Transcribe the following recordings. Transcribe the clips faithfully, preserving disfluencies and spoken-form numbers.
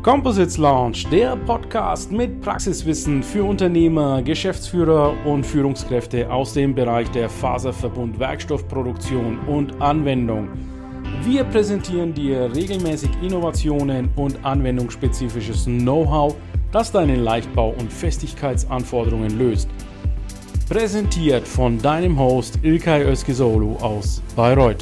Composites Lounge, der Podcast mit Praxiswissen für Unternehmer, Geschäftsführer und Führungskräfte aus dem Bereich der Faserverbund, Werkstoffproduktion und Anwendung. Wir präsentieren dir regelmäßig Innovationen und anwendungsspezifisches Know-how, das deine Leichtbau- und Festigkeitsanforderungen löst. Präsentiert von deinem Host İlkay Özkizoğlu aus Bayreuth.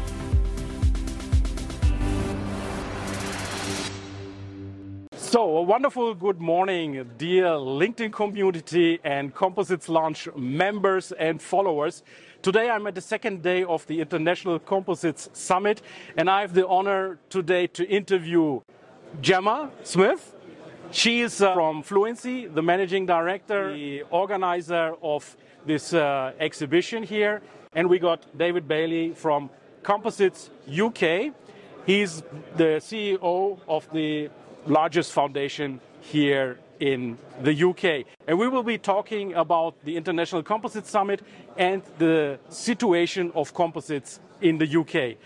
So, a wonderful good morning, dear LinkedIn community and Composites Launch members and followers. Today I'm at the second day of the International Composites Summit, and I have the honor today to interview Gemma Smith. She is uh, from Fluency, the managing director, the organizer of this uh, exhibition here. And we got David Bailey from Composites U K. He's the C E O of the largest foundation here in the U K. And we will be talking about the International Composites Summit and the situation of composites in the U K.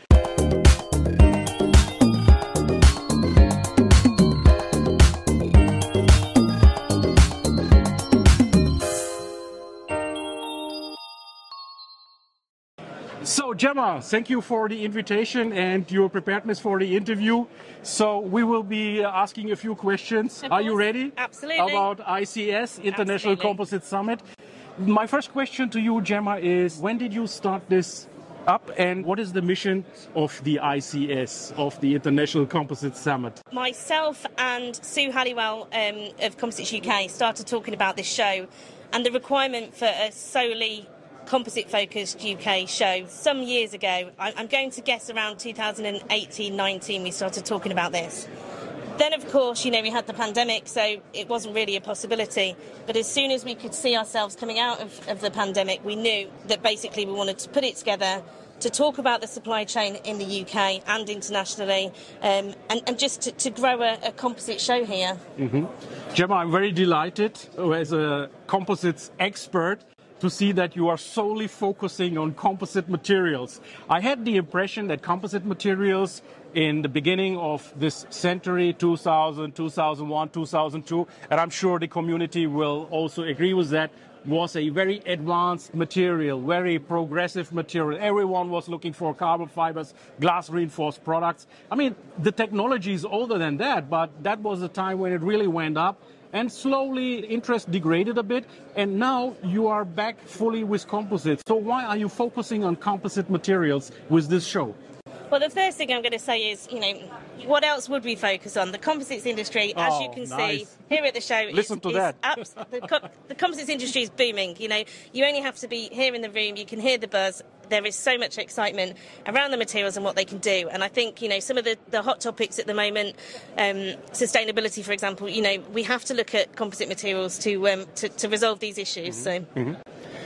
So, Gemma, thank you for the invitation and your preparedness for the interview. So, we will be asking a few questions. Are you ready? Absolutely. About I C S, International Absolutely. Composites Summit. My first question to you, Gemma, is when did you start this up and what is the mission of the I C S, of the International Composites Summit? Myself and Sue Halliwell um, of Composites U K started talking about this show and the requirement for a solely composite-focused U K show some years ago. I'm going to guess around two thousand eighteen nineteen we started talking about this. Then, of course, you know, we had the pandemic, so it wasn't really a possibility. But as soon as we could see ourselves coming out of, of the pandemic, we knew that basically we wanted to put it together to talk about the supply chain in the U K and internationally, um, and, and just to, to grow a, a composite show here. Mm-hmm. Gemma, I'm very delighted as a composites expert to see that you are solely focusing on composite materials. I had the impression that composite materials in the beginning of this century, two thousand, two thousand one, two thousand two, and I'm sure the community will also agree with that, was a very advanced material, very progressive material. Everyone was looking for carbon fibers, glass reinforced products. I mean, the technology is older than that, but that was the time when it really went up. And slowly interest degraded a bit, and now you are back fully with composites. So why are you focusing on composite materials with this show? Well, the first thing I'm going to say is, you know, what else would we focus on? The composites industry, as oh, you can nice. see here at the show, Listen is, to is that. abs- the, co- the composites industry is booming. You know, you only have to be here in the room, you can hear the buzz. There is so much excitement around the materials and what they can do. And I think, you know, some of the, the hot topics at the moment, um, sustainability, for example, you know, we have to look at composite materials to um, to, to resolve these issues. Mm-hmm. So. Mm-hmm.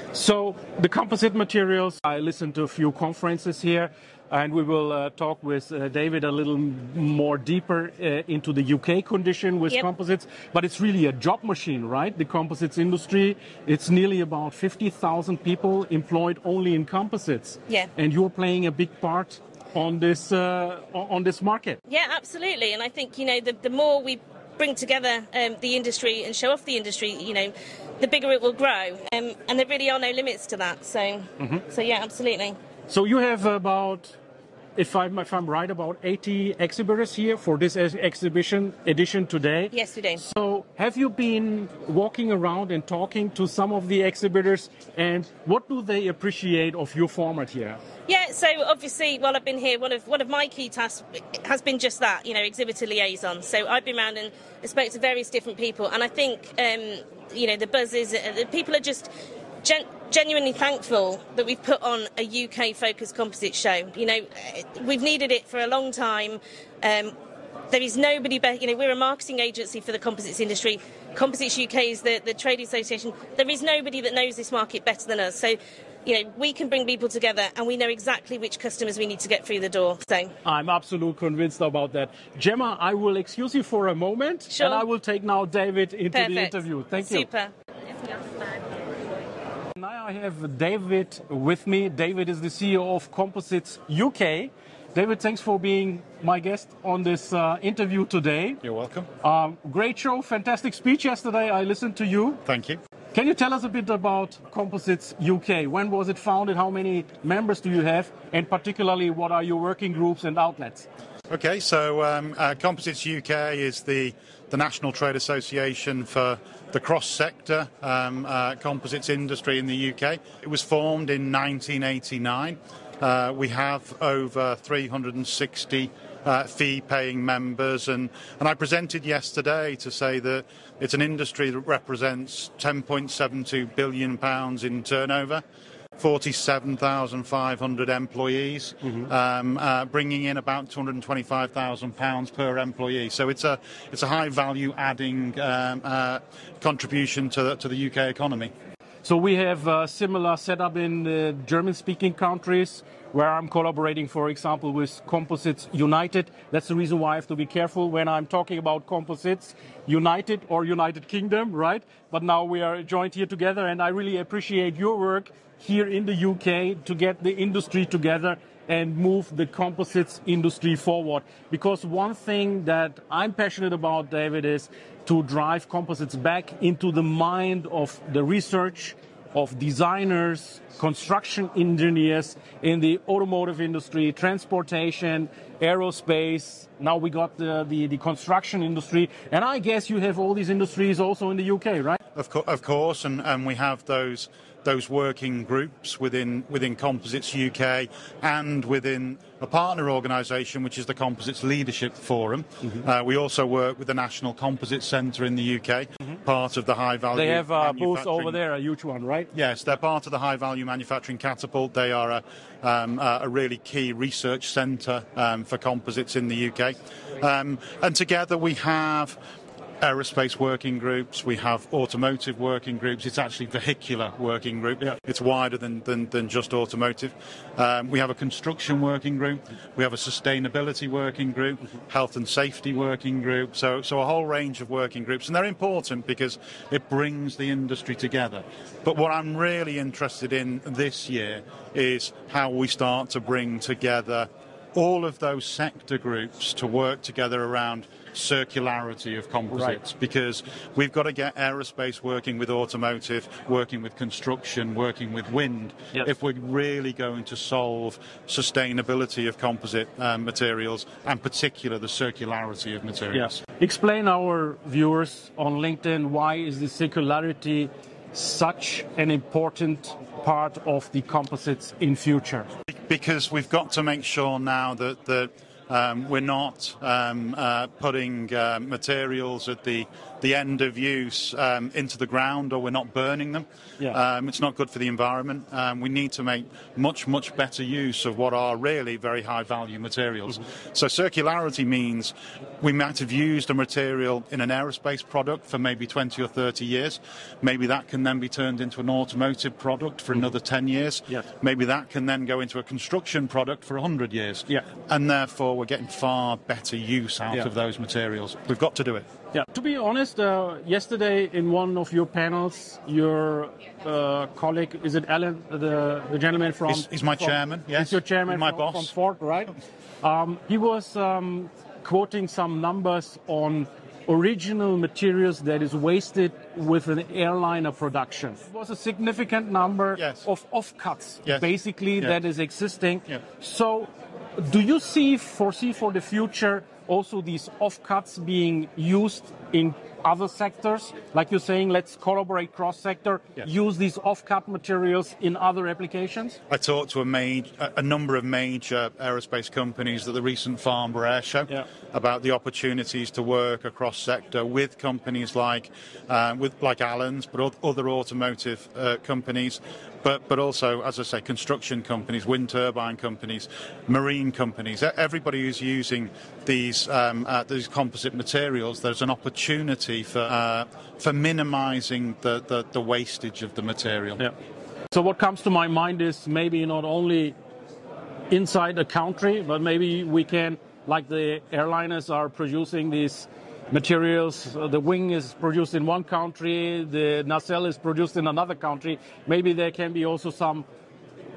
So the composite materials, I listened to a few conferences here, and we will uh, talk with uh, David a little more deeper uh, into the U K condition with yep. composites. But it's really a job machine, right? The composites industry, it's nearly about fifty thousand people employed only in composites. Yeah. And you're playing a big part on this uh, on this market. Yeah, absolutely. And I think, you know, the, the more we bring together um, the industry and show off the industry, you know, the bigger it will grow. Um, and there really are no limits to that. So, mm-hmm. so yeah, absolutely. So you have about, if I'm, if I'm right, about eighty exhibitors here for this ex- exhibition edition today. Yes, we do. So have you been walking around and talking to some of the exhibitors, and what do they appreciate of your format here? Yeah, so obviously, while I've been here, one of one of my key tasks has been just that, you know, exhibitor liaison. So I've been around and spoke to various different people, and I think, um, you know, the buzz is, uh, people are just gen- genuinely thankful that we've put on a U K-focused composite show. You know, we've needed it for a long time. Um, there is nobody better, you know, we're a marketing agency for the composites industry. Composites U K is the, the trade association. There is nobody that knows this market better than us. So, you know, we can bring people together and we know exactly which customers we need to get through the door. So I'm absolutely convinced about that. Gemma, I will excuse you for a moment, sure. and I will take now David into Perfect. the interview. Thank you. Super. Now I have David with me. David is the C E O of Composites U K. David, thanks for being my guest on this uh, interview today. You're welcome. Um, great show, fantastic speech yesterday. I listened to you. Thank you. Can you tell us a bit about Composites U K? When was it founded? How many members do you have? And particularly, what are your working groups and outlets? Okay, so um, uh, Composites U K is the, the national trade association for the cross-sector um, uh, composites industry in the U K. It was formed in nineteen eighty-nine. Uh, we have over three hundred sixty uh, fee-paying members, and, and I presented yesterday to say that it's an industry that represents ten point seven two billion pounds in turnover, forty-seven thousand five hundred employees, mm-hmm. um, uh, bringing in about two hundred twenty-five thousand pounds per employee. So it's a it's a high value adding um, uh, contribution to the, to the U K economy. So we have a similar setup in the German-speaking countries, where I'm collaborating, for example, with Composites United. That's the reason why I have to be careful when I'm talking about Composites United or United Kingdom, right? But now we are joined here together, and I really appreciate your work here in the U K to get the industry together and move the composites industry forward. Because one thing that I'm passionate about, David, is to drive composites back into the mind of the research, of designers, construction engineers in the automotive industry, transportation, aerospace. Now we got the, the, the construction industry. And I guess you have all these industries also in the U K, right? Of, co- of course, and, and we have those those working groups within within Composites U K and within a partner organisation, which is the Composites Leadership Forum. Mm-hmm. Uh, we also work with the National Composites Centre in the U K, mm-hmm. part of the High Value. They have a booth over there, a huge one, right? Yes, they're part of the High Value Manufacturing Catapult. They are a, um, a really key research centre um, for composites in the U K. Um, and together we have aerospace working groups, we have automotive working groups. It's actually vehicular working group. Yeah. It's wider than, than, than just automotive. Um, we have a construction working group. We have a sustainability working group, health and safety working group. So, so a whole range of working groups. And they're important because it brings the industry together. But what I'm really interested in this year is how we start to bring together all of those sector groups to work together around circularity of composites, right. Because we've got to get aerospace working with automotive, working with construction, working with wind, yes. if we're really going to solve sustainability of composite um, materials, and particular the circularity of materials. Yes. Explain our viewers on LinkedIn, why is the circularity such an important part of the composites in future? Because we've got to make sure now that the Um, we're not um, uh, putting uh, materials at the, the end of use um, into the ground, or we're not burning them. Yeah. Um, it's not good for the environment. Um, we need to make much, much better use of what are really very high-value materials. Mm-hmm. So circularity means we might have used a material in an aerospace product for maybe twenty or thirty years. Maybe that can then be turned into an automotive product for mm-hmm. another ten years. Yes. Maybe that can then go into a construction product for one hundred years. Yeah. And therefore, we're getting far better use out yeah. of those materials. We've got to do it. Yeah. To be honest, uh, yesterday in one of your panels, your uh, colleague, is it Alan, the, the gentleman from... He's, he's my from, chairman, yes. He's your chairman my from, boss. from Ford, right? Um, he was um, quoting some numbers on original materials that is wasted with an airliner production. It was a significant number yes. of offcuts, yes. basically, yes. that is existing. Yes. So do you see, foresee for the future also these offcuts being used in other sectors? Like you're saying, let's collaborate cross-sector, yes. use these offcut materials in other applications? I talked to a, major, a number of major aerospace companies at the recent Farnborough Air Show yeah. about the opportunities to work across sector with companies like uh, with like Allen's, but other automotive uh, companies. But, but also, as I say, construction companies, wind turbine companies, marine companies, everybody who's using these um, uh, these composite materials, there's an opportunity for uh, for minimising the, the, the wastage of the material. Yeah. So what comes to my mind is maybe not only inside a country, but maybe we can, like the airliners are producing these materials, uh, the wing is produced in one country, the nacelle is produced in another country. Maybe there can be also some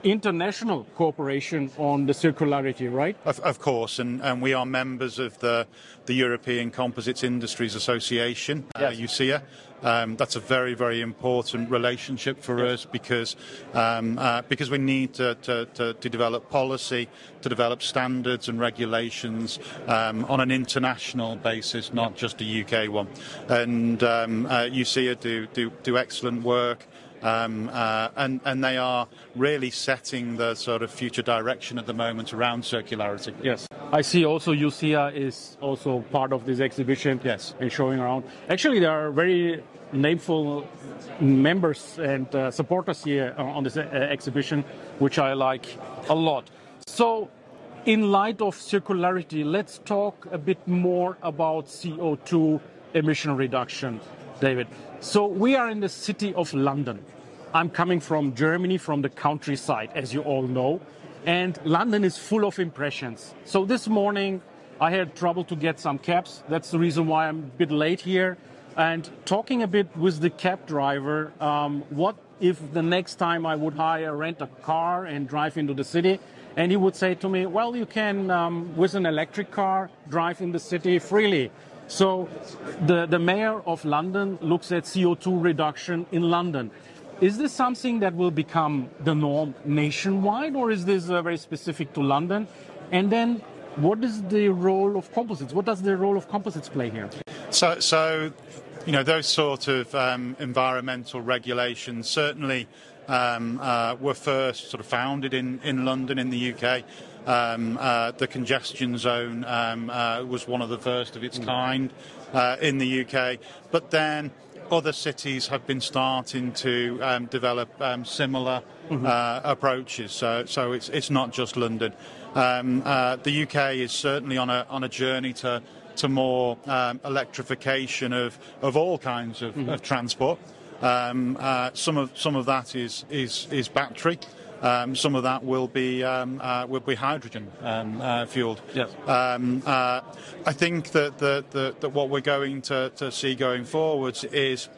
international cooperation on the circularity, right? Of, of course, and, and we are members of the, the European Composites Industries Association, Yes. uh, U C A. Um, that's a very, very important relationship for Yes. us because um, uh, because we need to, to, to, to develop policy, to develop standards and regulations um, on an international basis, not just a U K one. And um, uh, U C A do, do, do excellent work. Um, uh, and, and they are really setting the sort of future direction at the moment around circularity. Yes. I see also U C A is also part of this exhibition. Yes. And showing around. Actually, there are very nameful members and uh, supporters here on this uh, exhibition, which I like a lot. So, in light of circularity, let's talk a bit more about C O two emission reduction, David. So we are in the city of London. I'm coming from Germany, from the countryside, as you all know. And London is full of impressions. So this morning I had trouble to get some cabs. That's the reason why I'm a bit late here. And talking a bit with the cab driver, um, what if the next time I would hire, rent a car and drive into the city? And he would say to me, well, you can, um, with an electric car, drive in the city freely. So the, the mayor of London looks at C O two reduction in London. Is this something that will become the norm nationwide, or is this uh, very specific to London? And then what is the role of composites? What does the role of composites play here? So, so you know, those sort of um, environmental regulations certainly um, uh, were first sort of founded in, in London, in the U K. Um, uh, the congestion zone um, uh, was one of the first of its kind uh, in the U K, but then other cities have been starting to um, develop um, similar mm-hmm. uh, approaches. So, so it's it's not just London. Um, uh, the U K is certainly on a on a journey to to more um, electrification of of all kinds of, mm-hmm. of transport. Um, uh, some of some of that is is is battery. Um, some of that will be um, uh, will be hydrogen um, uh, fueled. Yes. Um, uh, I think that, that, that, that what we're going to, to see going forwards is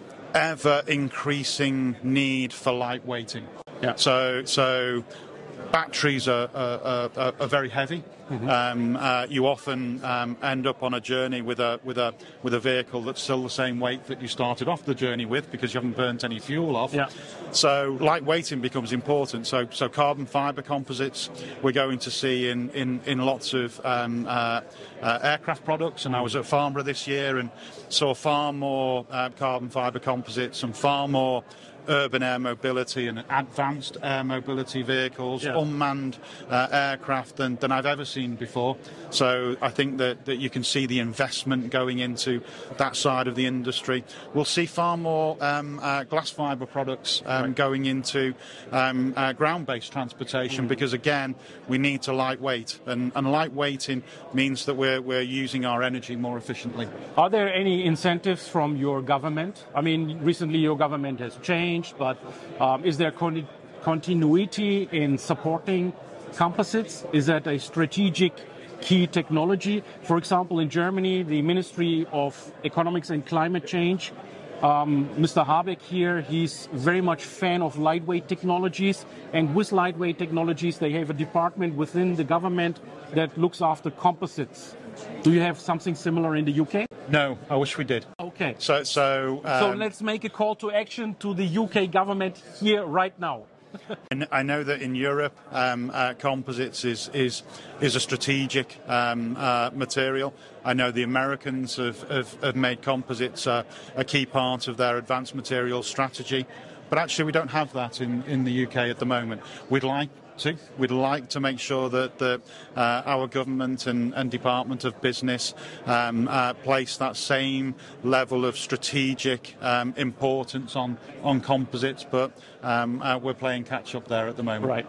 ever increasing need for lightweighting. Yeah. So so batteries are, are, are, are very heavy. Mm-hmm. Um, uh, you often um, end up on a journey with a with a with a vehicle that's still the same weight that you started off the journey with because you haven't burnt any fuel off. Yeah. So lightweighting becomes important. So so carbon fibre composites we're going to see in in, in lots of um, uh, uh, aircraft products. And I was at Farnborough this year and saw far more uh, carbon fibre composites and far more urban air mobility and advanced air mobility vehicles, yeah. unmanned uh, aircraft than, than I've ever seen before. So I think that, that you can see the investment going into that side of the industry. We'll see far more um, uh, glass fibre products um, right. going into um, uh, ground-based transportation mm. because, again, we need to lightweight. And, and lightweighting means that we're, we're using our energy more efficiently. Are there any incentives from your government? I mean, recently your government has changed. But um, is there con- continuity in supporting composites? Is that a strategic key technology? For example, in Germany, the Ministry of Economics and Climate Change, um, Mister Habeck here, he's very much fan of lightweight technologies. And with lightweight technologies, they have a department within the government that looks after composites. Do you have something similar in the U K? No, I wish we did. Okay. So, so, um, so let's make a call to action to the U K government here right now. And I know that in Europe, um, uh, composites is is is a strategic um, uh, material. I know the Americans have, have, have made composites uh, a key part of their advanced materials strategy. But actually, we don't have that in, in the U K at the moment. We'd like to. We'd like to make sure that the, uh, our government and, and Department of Business um, uh, place that same level of strategic um, importance on, on composites, but um, uh, we're playing catch-up there at the moment. Right.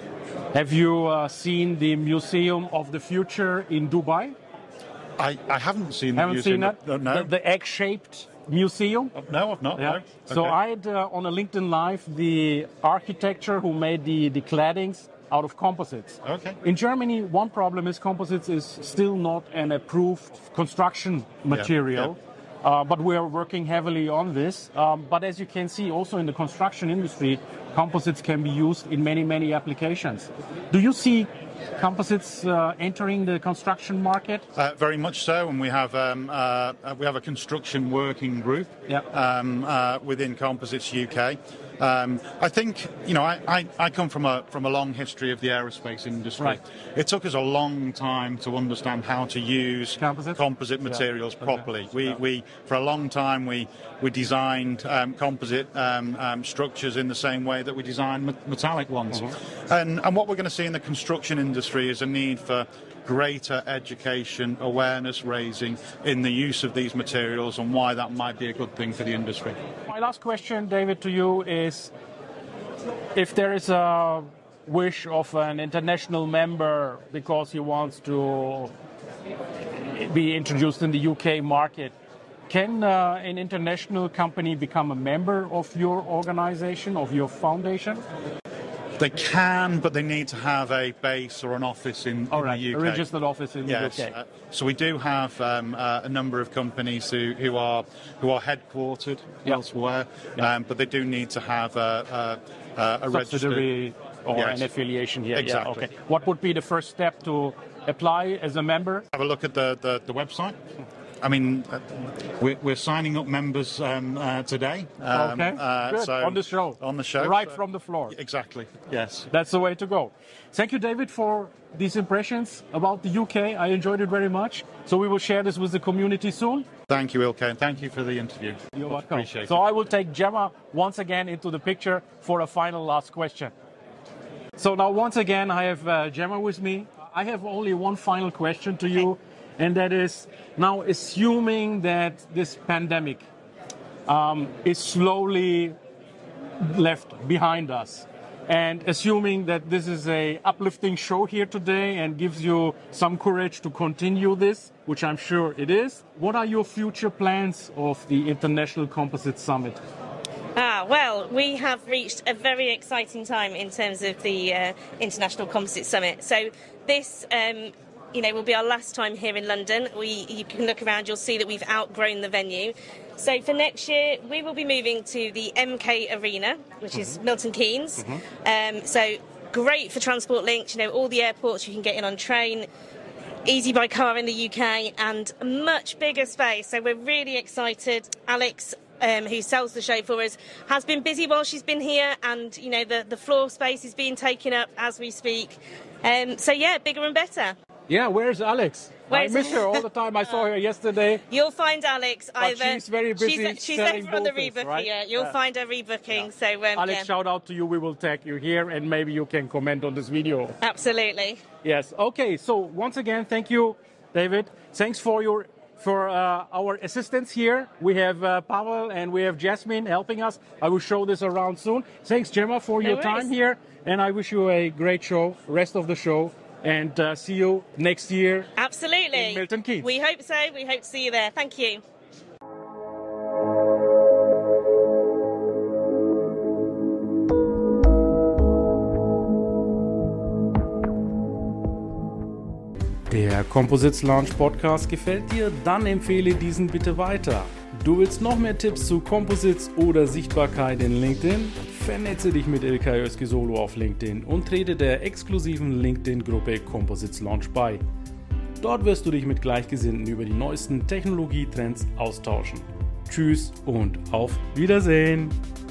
Have you uh, seen the Museum of the Future in Dubai? I, I haven't seen the haven't museum. Seen that? No, no. The, the egg-shaped museum? No, I've not. Yeah. No. Okay. So I had uh, on a LinkedIn Live the architecture who made the, the claddings out of composites. Okay. In Germany, one problem is composites is still not an approved construction material. Yeah, Uh, but we are working heavily on this. Um, but as you can see, also in the construction industry, composites can be used in many, many applications. Do you see composites uh, entering the construction market? Uh, very much so, and we have um, uh, we have a construction working group Yep. um, uh, within Composites U K. Um, I think, you know, I, I, I come from a from a long history of the aerospace industry. Right. It took us a long time to understand how to use Composites? composite materials Yeah. properly. Okay. We, Yeah. we for a long time we we designed um, composite um, um, structures in the same way that we design me- metallic ones. Mm-hmm. And and what we're going to see in the construction industry is a need for greater education, awareness raising in the use of these materials and why that might be a good thing for the industry. My last question, David, to you is if there is a wish of an international member because he wants to be introduced in the U K market, can uh, an international company become a member of your organization, of your foundation? They can, but they need to have a base or an office in, All in right, the U a K. registered office in Yes. the U K. Uh, so we do have um, uh, a number of companies who, who are who are headquartered Yeah. elsewhere, Yeah. um, but they do need to have a, a, a, a registered. Subsidiary or Yes. an affiliation here. Exactly. Yeah, okay. What would be the first step to apply as a member? Have a look at the, the, the website. I mean, uh, we're, we're signing up members um, uh, today. Um, Okay, uh, good. so On the show. On the show. Right So- from the floor. Exactly. Yes. That's the way to go. Thank you, David, for these impressions about the U K. I enjoyed it very much. So we will share this with the community soon. Thank you, Ilke, and thank you for the interview. You're welcome. Appreciate So it. I will take Gemma once again into the picture for a final last question. So now once again I have uh, Gemma with me. I have only one final question to you, and that is, now assuming that this pandemic um, is slowly left behind us, and assuming that this is a uplifting show here today and gives you some courage to continue this, which I'm sure it is, what are your future plans of the International Composite Summit? Ah, well, we have reached a very exciting time in terms of the uh, International Composite Summit. So this, um, you know, will be our last time here in London. We, you can look around, you'll see that we've outgrown the venue. So for next year, we will be moving to the M K Arena, which is Mm-hmm. Milton Keynes. Mm-hmm. Um, so great for transport links, you know, all the airports you can get in on train, easy by car in the U K, and a much bigger space. So we're really excited. Alex, Um, who sells the show for us, has been busy while she's been here, and you know the, the floor space is being taken up as we speak. Um, so yeah, bigger and better. Yeah, where's Alex? Where's- I miss her all the time. I saw her yesterday. You'll find Alex either. she's very busy She's, she's selling over on the boaters, rebooking. right? Yeah, you'll Yeah. find her rebooking. So um, Alex, yeah, shout out to you. We will tag you here, and maybe you can comment on this video. absolutely. Yes. Okay. So once again, thank you, David. Thanks for your for uh, our assistants here. We have uh, Pavel and we have Jasmine helping us. I will show this around soon. Thanks, Gemma, for No your worries. time here, and I wish you a great show, rest of the show, and uh, see you next year. Absolutely. In Milton Keynes. We hope so. We hope to see you there. Thank you. Der Composites Launch Podcast gefällt dir? Dann empfehle diesen bitte weiter. Du willst noch mehr Tipps zu Composites oder Sichtbarkeit in LinkedIn? Vernetze dich mit Ilkay Özki-Solo auf LinkedIn und trete der exklusiven LinkedIn-Gruppe Composites Launch bei. Dort wirst du dich mit Gleichgesinnten über die neuesten Technologietrends austauschen. Tschüss und auf Wiedersehen!